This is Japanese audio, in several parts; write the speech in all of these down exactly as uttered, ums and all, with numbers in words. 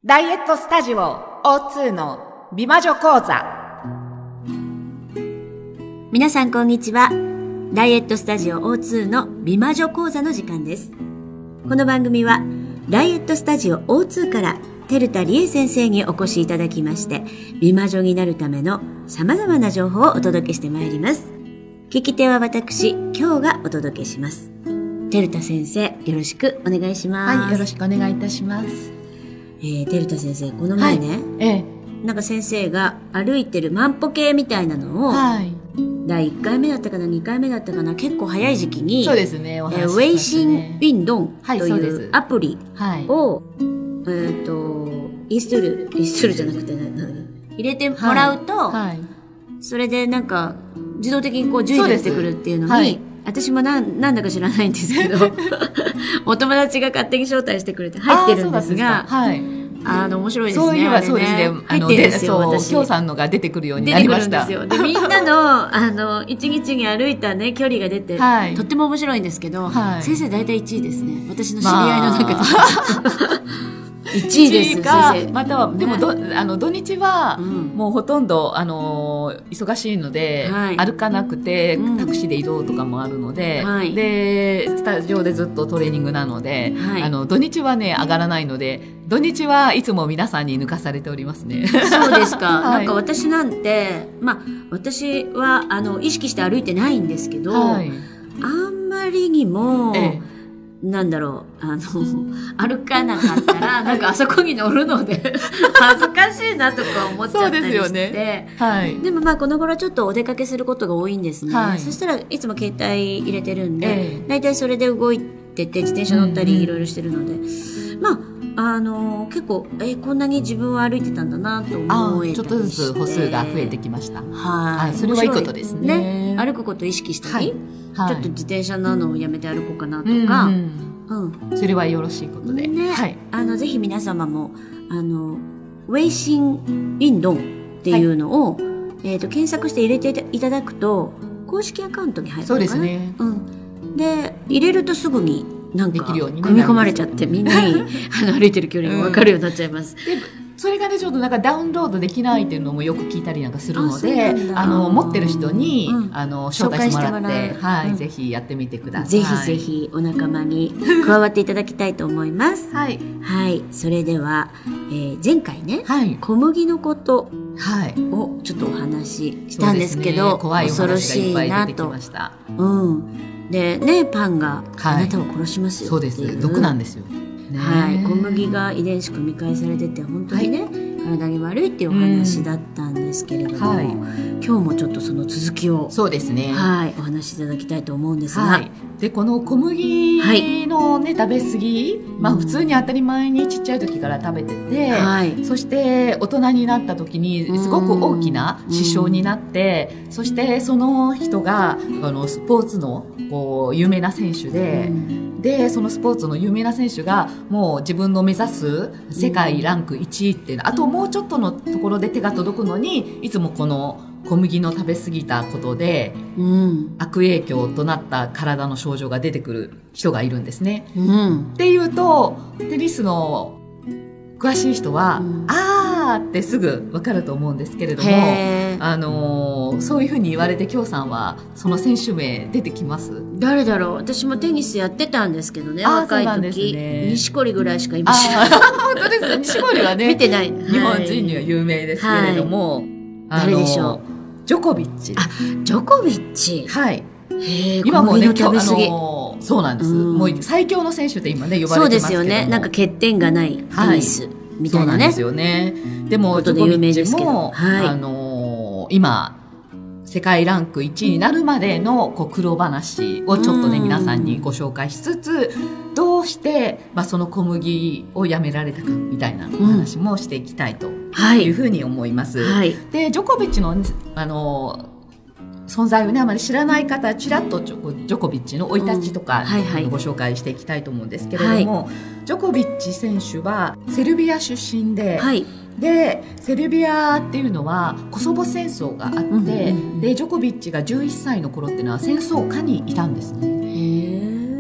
ダイエットスタジオ オーツー の美魔女講座。 皆さんこんにちは。ダイエットスタジオ オーツー の美魔女講座の時間です。この番組はダイエットスタジオ オーツー から照田理恵先生にお越しいただきまして、美魔女になるための様々な情報をお届けしてまいります。聞き手は私、今日がお届けします。照田先生、よろしくお願いします。 はい、よろしくお願いいたします。 えー、照田先生、この前ね、はい、ええ、なんか先生が歩いてる万歩計みたいなのを、はい、だいいっかいめだったかな、にかいめだったかな、結構早い時期に、 そうですね、お話ししましたね、 えー、ウェイシンビンドンというアプリを、 はい、 えっと、インストール、インストールじゃなくて、入れてもらうと、はいはい、それでなんか、自動的にこう順位が出てくるっていうのに、はい、私もなん、なんだか知らないんですけど、お友達が勝手に招待してくれて入ってるんですが、 はい、 あの、面白いですね。 そういえばそうですね。 入ってるんですよ、私。 きょうさんのが出てくるようになりました。 出てくるんですよ。で、みんなの、あの、一日に歩いたね、距離が出て、はい、とっても面白いんですけど、はい、先生大体いちいですね。私の知り合いの中で。まあいちいです、先生。 または、でもど、あの、土日は、もうほとんど、あの、忙しいので、はい、歩かなくて、うん、タクシーで移動とかもあるので、はい、で、スタジオでずっとトレーニングなので、はい、あの、土日はね、上がらないので、土日はいつも皆さんに抜かされておりますね。 そうですか。はい、なんか私なんて、まあ、私は、あの、意識して歩いてないんですけど、はい、あんまりにも、ええ、なんだろう、あの、歩かなかったら、なんかあそこに乗るので、恥ずかしいなとか思っちゃったりして。そうですよね。はい。でもまあこの頃ちょっとお出かけすることが多いんですね。はい。そしたらいつも携帯入れてるんで、ええ、だいたいそれで動いてて、自転車乗ったりいろいろしてるので、うんうん、まあ、あのー、結構、えー、こんなに自分は歩いてたんだなと思えたりして。ちょっとずつ歩数が増えてきました。 はい。 それはいいことですね。 ね。歩くことを意識したり、はい、ちょっと自転車なのをやめて歩こうかなとか、うんうん、それはよろしいことで。 ね。はい。あの、ぜひ皆様も、あの、ウェイシンビンドンっていうのを、はい、えっと、検索して入れていただくと、公式アカウントに入るのかな。 そうですね。 うん。で、入れるとすぐに、なんか、組み込まれちゃって、みんなにあの歩いてる距離が分かるようになっちゃいます。 うん、でそれがね、ちょっとなんかダウンロードできないっていうのもよく聞いたりなんかするので、あ, あの、持ってる人に、うん、あの、招待してもらって、はい、うん、ぜひやってみてください。 ぜひぜひお仲間に加わっていただきたいと思います。はい。はい。それでは、えー、前回ね、はい、小麦のことをちょっとお話ししたんですけど、 ね、怖いお話がいっぱい出てきました。 うん。で、ね、パンがあなたを殺しますよ、 はい、そうです。毒なんですよ。 ね、はい、小麦が遺伝子組み換えされてて本当にね、はい、体に悪いっていうお話だったんですけれども、はい、今日もちょっとその続きをそうですね、 はい、お話しいただきたいと思うんですが、 はい、でこの小麦の、ね、はい、食べ過ぎ、まあ、普通に当たり前にちっちゃい時から食べてて、はい、そして大人になった時にすごく大きな支障になって、そしてその人があのスポーツのこう有名な選手で、でそのスポーツの有名な選手がもう自分の目指す世界ランクいちいっていうの、あともうちょっとのところで手が届くのに、いつもこの小麦の食べ過ぎたことで、うん、悪影響となった体の症状が出てくる人がいるんですね。うん、っていうとテニスの詳しい人は、うん、あーってすぐ分かると思うんですけれども、あのー、そういうふうに言われて、きょうさんはその選手名出てきます？ 誰だろう。私もテニスやってたんですけどね、若い時、ね、錦織ぐらいしか今知らない。 本当ですね。錦織はね、 見てない。 日本人には有名ですけれども、はい、 誰でしょう。 ジョコビッチ。 あ、ジョコビッチ。 はい。 へ今もね、今日、あのー、そうなんです、うん。もう最強の選手って今ね、呼ばれてますけども。 そうですよね。なんか欠点がないテニス。はいみたいなね。 そうなんですよね。でも、ジョコビッチも、はい、あのー、今、世界ランクいちいになるまでのこう苦労話をちょっとね、皆さんにご紹介しつつ、どうして、まあ、その小麦をやめられたかみたいなお話もしていきたいというふうに思います。はい、で、ジョコビッチの、あのー、存在をね、あまり知らない方、ちらっとジョ、ジョコビッチの生い立ちとか、うんはいはい、ご紹介していきたいと思うんですけれども、はい、ジョコビッチ選手はセルビア出身で、はい、で、セルビアっていうのはコソボ戦争があって、うんうんうん、で、ジョコビッチがじゅういっさいの頃っていうのは戦争下にいたんですね。へ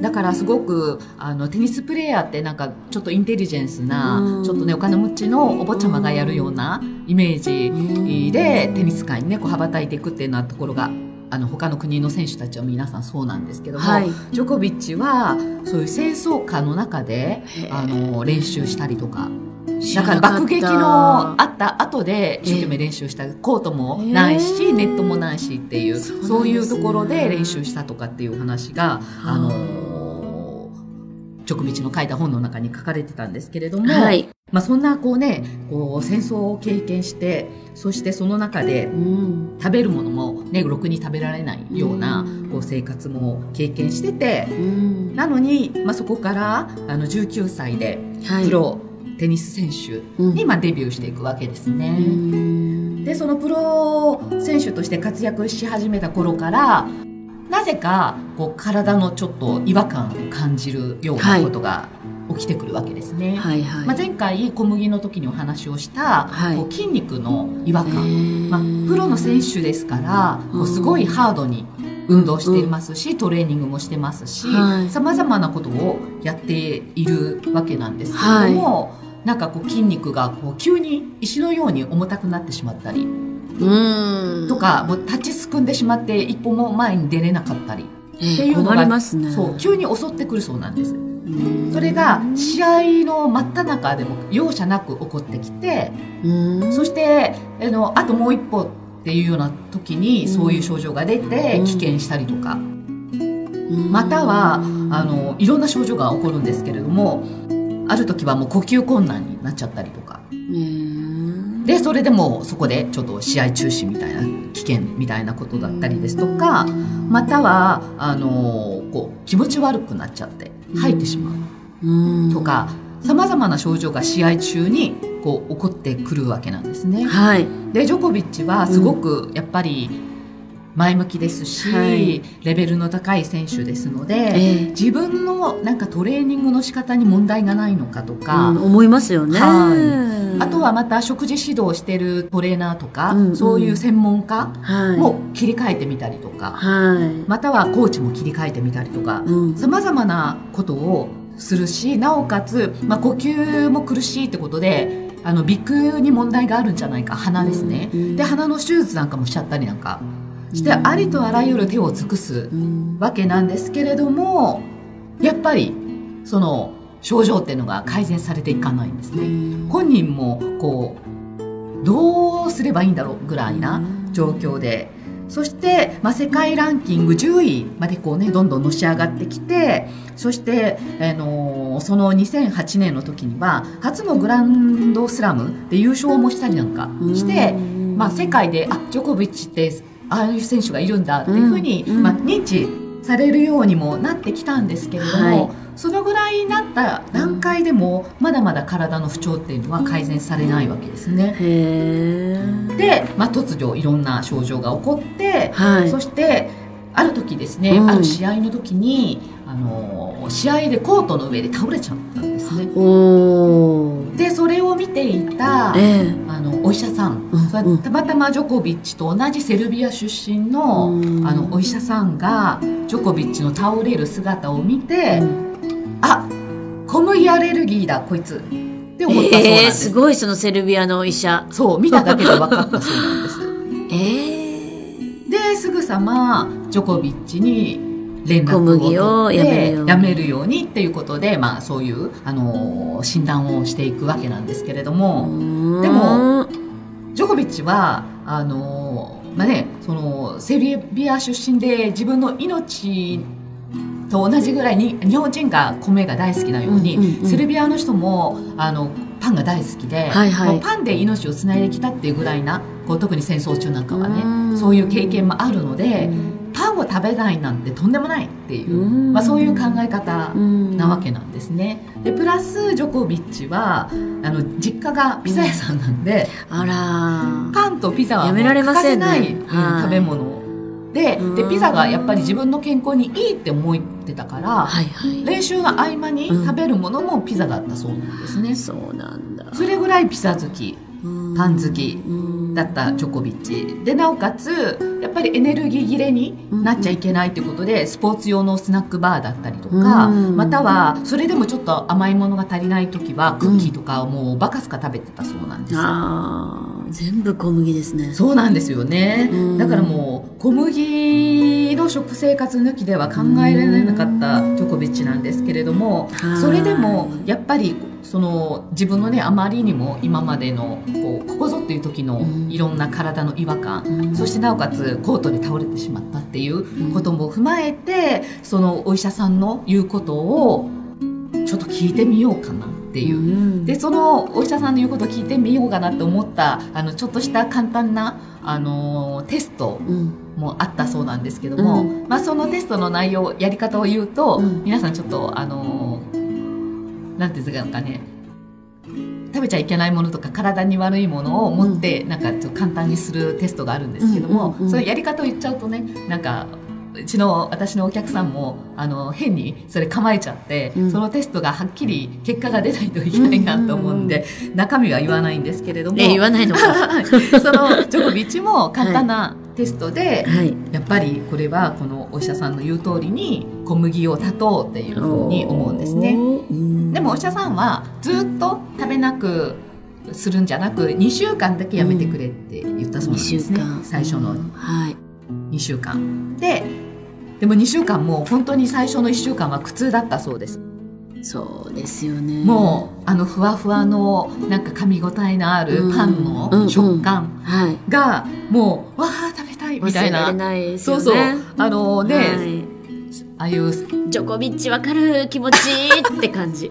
だからすごくあのテニスプレーヤーってなんかちょっとインテリジェンスな、ちょっとねお金持ちのお坊ちゃまがやるようなイメージでテニス界にねこう羽ばたいていくっていうようなところがあの他の国の選手たちは皆さんそうなんですけども、はい、ジョコビッチはそういう清掃下の中であの練習したりとか、だから爆撃のあった後で一生懸命練習した、コートもないしネットもないしっていう、そう、そういうところで練習したとかっていう話があのジョコビッチの書いた本の中に書かれてたんですけれども、はい、まあ、そんなこうねこう戦争を経験して、そしてその中で食べるものもねろくに食べられないようなこう生活も経験してて、なのに、まあ、そこからあのじゅうきゅうさいでプロ、はい、テニス選手にまあデビューしていくわけですね。でそのプロ選手として活躍し始めた頃からなぜかこう体のちょっと違和感を感じるようなことが起きてくるわけですね。はいはい、まあ、前回小麦の時にお話をした、はい、こう筋肉の違和感、まあ、プロの選手ですからこうすごいハードに運動していますし、トレーニングもしてますし、さまざまなことをやっているわけなんですけれども、はい、なんかこう筋肉がこう急に石のように重たくなってしまったりうんとか、もう立ちすくんでしまって一歩も前に出れなかったりっていうのが、えーますね、そう急に襲ってくるそうなんです。それが試合の真っ只中でも容赦なく起こってきて、そしてあのあともう一歩っていうような時にそういう症状が出て棄権したりとか、またはあのいろんな症状が起こるんですけれども、ある時はもう呼吸困難になっちゃったりとかで、それでもそこでちょっと試合中止みたいな危険みたいなことだったりですとか、またはあのこう気持ち悪くなっちゃって吐いてしまうとか、さまざまな症状が試合中にこう起こってくるわけなんですね。はい、でジョコビッチはすごくやっぱり前向きですし、はい、レベルの高い選手ですので、えー、自分のなんかトレーニングの仕方に問題がないのかとか、 うん、思いますよね。 はい、あとはまた食事指導してるトレーナーとか、うんうん、そういう専門家も切り替えてみたりとか、はい、またはコーチも切り替えてみたりとか、さまざまなことをするし、なおかつ、まあ、呼吸も苦しいってことであの鼻腔に問題があるんじゃないか、鼻ですね、うん、で鼻の手術なんかもしちゃったりなんかしてありとあらゆる手を尽くすわけなんですけれども、やっぱりその症状っていうのが改善されていかないんですね。本人もこうどうすればいいんだろうぐらいな状況で、そして、まあ、世界ランキングじゅういまでこうねどんどんのし上がってきて、そして、あのー、そのにせんはちねんの時には初のグランドスラムで優勝もしたりなんかして、まあ、世界であジョコビッチってああいう選手がいるんだっていうふうに、うんうん、まあ、認知されるようにもなってきたんですけれども、はい、そのぐらいになった段階でもまだまだ体の不調っていうのは改善されないわけですね。へー。で、まあ、突如いろんな症状が起こって、はい、そしてある時ですね、うん、ある試合の時にあの試合でコートの上で倒れちゃったんですね。おでそれを見ていた、えー、あのお医者さん、うん、たまたまジョコビッチと同じセルビア出身 の,、うん、あのお医者さんがジョコビッチの倒れる姿を見て、うん、あ小麦アレルギーだこいつって思ったそうなんです。えー、 すごい、そのセルビアのお医者、 そう見ただけで分かったそうなんです。えー、ですぐさまジョコビッチに連絡を取ってやめるようにっていうことで、まあ、そういう、あのー、診断をしていくわけなんですけれども、でもジョコビッチはあのーまあね、そのセルビア出身で自分の命と同じぐらいに日本人が米が大好きなように、うんうんうん、セルビアの人もあのパンが大好きで、はいはい、もうパンで命をつないできたっていうぐらいな、こう特に戦争中なんかはね、そういう経験もあるので、パンを食べないなんてとんでもないっていう、まあ、そういう考え方なわけなんですね。でプラスジョコビッチはあの実家がピザ屋さんなんで、あらパンとピザはもう欠かせない、ね、うん、食べ物で, でピザがやっぱり自分の健康にいいって思ってたから、はいはい、練習の合間に食べるものもピザだったそうなんですね、うん、そうなんだ。それぐらいピザ好き、パン好きだったジョコビッチで、なおかつやっぱりエネルギー切れになっちゃいけないということで、スポーツ用のスナックバーだったりとか、またはそれでもちょっと甘いものが足りない時はクッキーとかをもうバカスカ食べてたそうなんですよ。 あー、全部小麦ですね。 そうなんですよね。だからもう小麦の食生活抜きでは考えられなかったジョコビッチなんですけれども、それでもやっぱりその自分のね、あまりにも今までのこうここぞっていう時のいろんな体の違和感、うん、そしてなおかつコートで倒れてしまったっていうことも踏まえて、そのお医者さんの言うことをちょっと聞いてみようかなっていう、うん、でそのお医者さんの言うことを聞いてみようかなと思ったあのちょっとした簡単なあのテストもあったそうなんですけども、うん、まあ、そのテストの内容やり方を言うと、うん、皆さんちょっとあのなんていうんですかね、食べちゃいけないものとか体に悪いものを持って、うん、なんかちょっと簡単にするテストがあるんですけども、うんうんうん、そのやり方を言っちゃうとね、なんかうちの私のお客さんもあの変にそれ構えちゃって、うん、そのテストがはっきり結果が出ないといけないなと思うんで、うんうんうん、中身は言わないんですけれども、 ね、言わないのかそのジョコビッチも簡単なテストで、はい、やっぱりこれはこのお医者さんの言う通りに小麦を断とうっていうふうに思うんですね。でもお医者さんはずっと食べなくするんじゃなくにしゅうかんだけやめてくれって言ったそうなんですね、うん、最初のにしゅうかんで、でもにしゅうかんも本当に最初のいっしゅうかんは苦痛だったそうです。 そうですよね。 もうあのふわふわのなんか噛み応えのあるパンの食感がもうわー食べたいみたいな、 忘れられないですよね。 そうそう、あのね、はい、ああいうジョコビッチわかる気持ちって感じ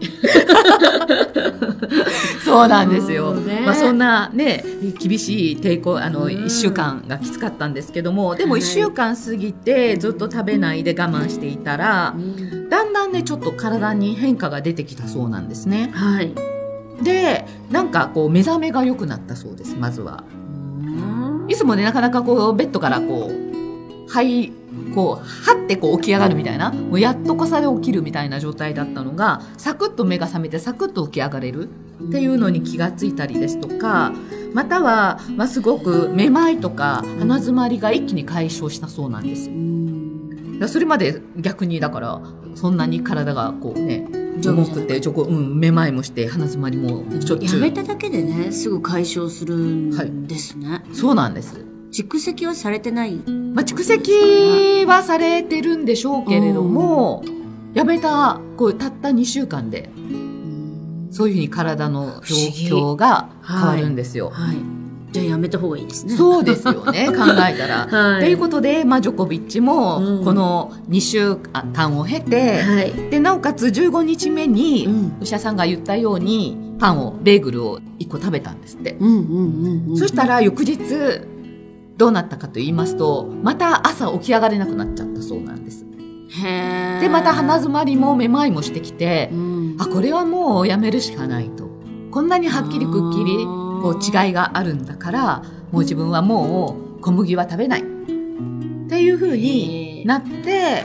そうなんですよ、ね、まあ、そんなね厳しい抵抗、あのいっしゅうかんがきつかったんですけども、でもいっしゅうかん過ぎてずっと食べないで我慢していたら、だんだんねちょっと体に変化が出てきたそうなんですね。 はい。 でなんかこう目覚めが良くなったそうです。まずは、いつもねなかなかこうベッドからこうはいこうはってこう起き上がるみたいな、もうやっとこさで起きるみたいな状態だったのが、サクッと目が覚めてサクッと起き上がれるっていうのに気がついたりですとか、または、まあ、すごくめまいとか鼻づまりが一気に解消したそうなんですよ。それまで逆にだからそんなに体がこうね重くてちょこ、うん、めまいもして鼻づまりもしょっちゅう。 やめただけでねすぐ解消するんですね、はい、 そうなんです。 蓄積はされてない、 まあ、蓄積はされてるんでしょうけれども、やめたこうたったにしゅうかんでそういうふうに体の状況が変わるんですよ。 はいはい、じゃあやめた方がいいですね。 そうですよね考えたら。と、はい、いうことで、まあ、ジョコビッチもこのにしゅうかんを経て、はい、でなおかつじゅうごにちめにお医者さんが言ったようにパンをベーグルをいっこ食べたんですって、うんうんうんうん、そしたら翌日どうなったかと言いますと、また朝起き上がれなくなっちゃったそうなんです。 へー。 でまた鼻づまりもめまいもしてきて、うん、あこれはもうやめるしかないと、こんなにはっきりくっきりこう違いがあるんだから、もう自分はもう小麦は食べないっていう風になって、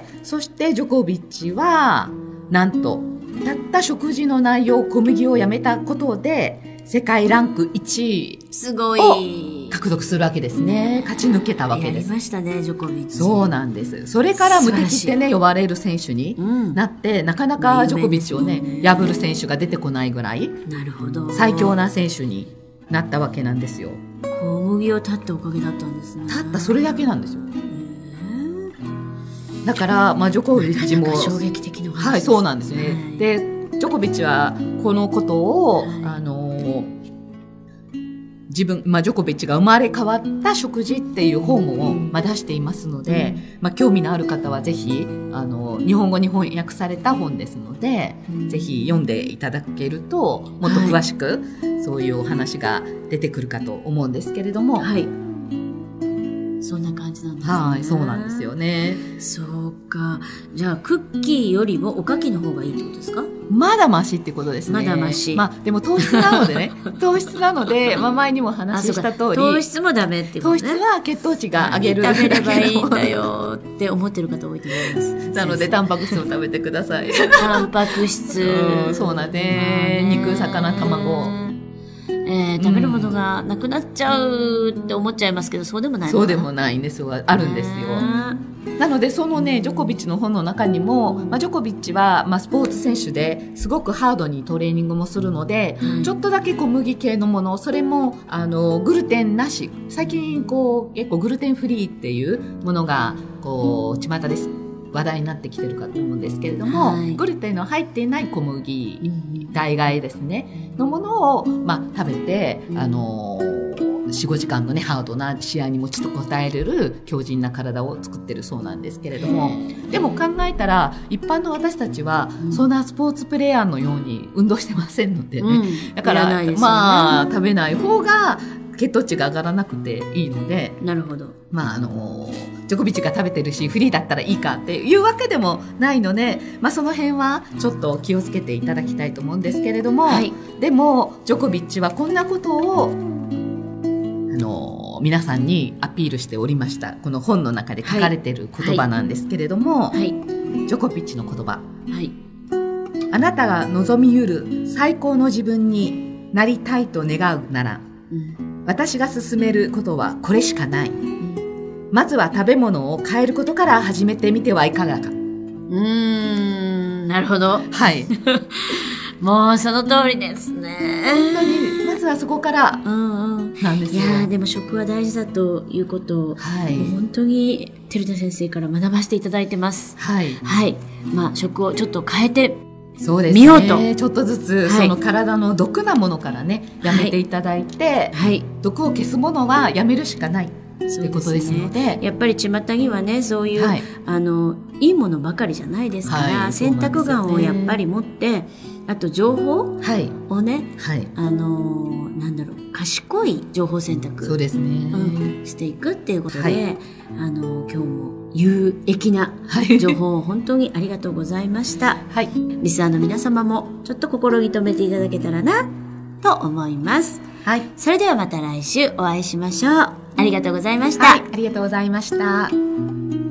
そしてジョコビッチはなんとたった食事の内容、小麦をやめたことで世界ランクいちいすごい獲得するわけですね。勝ち抜けたわけです。 やりましたねジョコビッチ。 そうなんです。それから無敵ってね呼ばれる選手になって、うん、なかなかジョコビッチをね、ね破る選手が出てこないぐらい、 なるほど、 最強な選手になったわけなんですよ。 小麦を断ったおかげだったんですね。 断ったそれだけなんですよ。だから、まあ、ジョコビッチも衝撃的な話です。 はい、そうなんですね。はい、でジョコビッチはこのことを、はい、あの自分、まあ、ジョコビッチが生まれ変わった食事っていう本を、まあ、出していますので、うん、まあ、興味のある方はぜひあの日本語に翻訳された本ですので、うん、ぜひ読んでいただけるともっと詳しく、はい、そういうお話が出てくるかと思うんですけれども、 はい、そんな感じなんですね。 はい、そうなんですよね。 そうか。じゃあクッキーよりもおかきの方がいいってことですか？ まだマシってことですね。 まだマシ。 まあでも糖質なのでね糖質なので、まあ、前にも話した通り糖質もダメってことね。 糖質は血糖値が上げる食べればいいんだよって思ってる方多いと思いますなのでタンパク質を食べてくださいタンパク質、 うん、そうなんで、肉魚卵、 えー、食べるものがなくなっちゃうって思っちゃいますけど、そうでもないのかな。 そうでもないんですよ。あるんですよ。なのでそのねジョコビッチの本の中にも、まあ、ジョコビッチは、まあ、スポーツ選手ですごくハードにトレーニングもするので、うん、ちょっとだけ小麦系のもの、それもあのグルテンなし、最近こう結構グルテンフリーっていうものがこう巷です話題になってきてるかと思うんですけれども、はい、グルテンの入っていない小麦、うん、代替ですねのものを、まあ、食べて、うん、あのよん、ごじかんのねハードな試合にもちと応えれる強靭な体を作ってるそうなんですけれども、でも考えたら一般の私たちはそんなスポーツプレーヤーのように運動してませんのでね、うん、だから、ね、まあ食べない方が血糖値が上がらなくていいので、 なるほど、 まああのジョコビッチが食べてるしフリーだったらいいかっていうわけでもないので、まあ、その辺はちょっと気をつけていただきたいと思うんですけれども、はい、でもジョコビッチはこんなことをあの皆さんにアピールしておりました。この本の中で書かれている言葉なんですけれども、はいはい、ジョコビッチの言葉、はい、あなたが望みゆる最高の自分になりたいと願うなら、うん、私が勧めることはこれしかない、うん、まずは食べ物を変えることから始めてみてはいかがか。うーん、なるほど。 はい。 もうその通りですね。 本当にまずはそこからなんですよ。 いやでも食は大事だということを、はい、本当に照田先生から学ばせていただいてます。はい。はい。まあ食をちょっと変えてそうですね、見ようとちょっとずつ、はい、その体の毒なものからねやめていただいて、はい、毒を消すものはやめるしかないということですので、 ね、やっぱり巷にはねそういう、はい、あのいいものばかりじゃないですから、はい、選択眼をやっぱり持って、あと情報をね、はい、あのなんだろう賢い情報選択そうですね、 うん、していくっていうことで、はい、あの今日も有益な情報を本当にありがとうございました、はい、リスナーの皆様もちょっと心に留めていただけたらなと思います、はい、それではまた来週お会いしましょう。ありがとうございました、 はい、ありがとうございました。